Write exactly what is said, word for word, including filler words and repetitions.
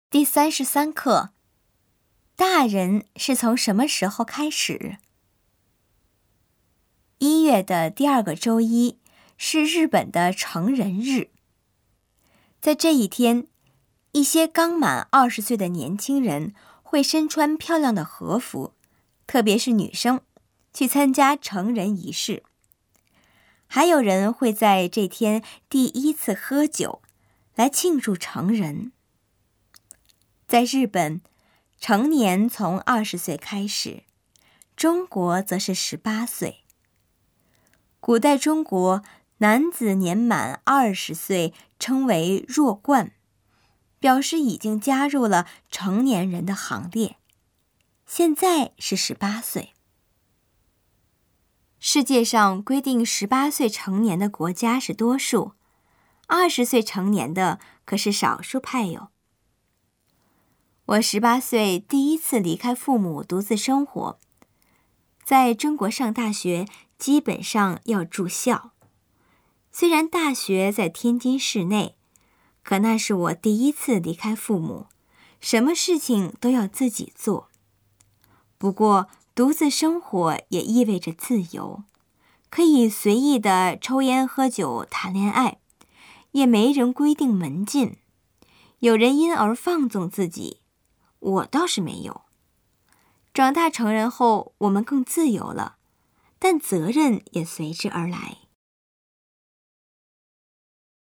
第三十三课，大人是从什么时候开始？一月的第二个周一是日本的成人日。在这一天，一些刚满二十岁的年轻人会身穿漂亮的和服，特别是女生，去参加成人仪式。还有人会在这天第一次喝酒，来庆祝成人。在日本，成年从二十岁开始，中国则是十八岁。古代中国男子年满二十岁称为弱冠，表示已经加入了成年人的行列。现在是十八岁。世界上规定十八岁成年的国家是多数，二十岁成年的可是少数派哟。我十八岁第一次离开父母独自生活，在中国上大学基本上要住校。虽然大学在天津市内，可那是我第一次离开父母，什么事情都要自己做。不过独自生活也意味着自由，可以随意的抽烟喝酒谈恋爱，也没人规定门禁，有人因而放纵自己，我倒是没有。长大成人后，我们更自由了，但责任也随之而来。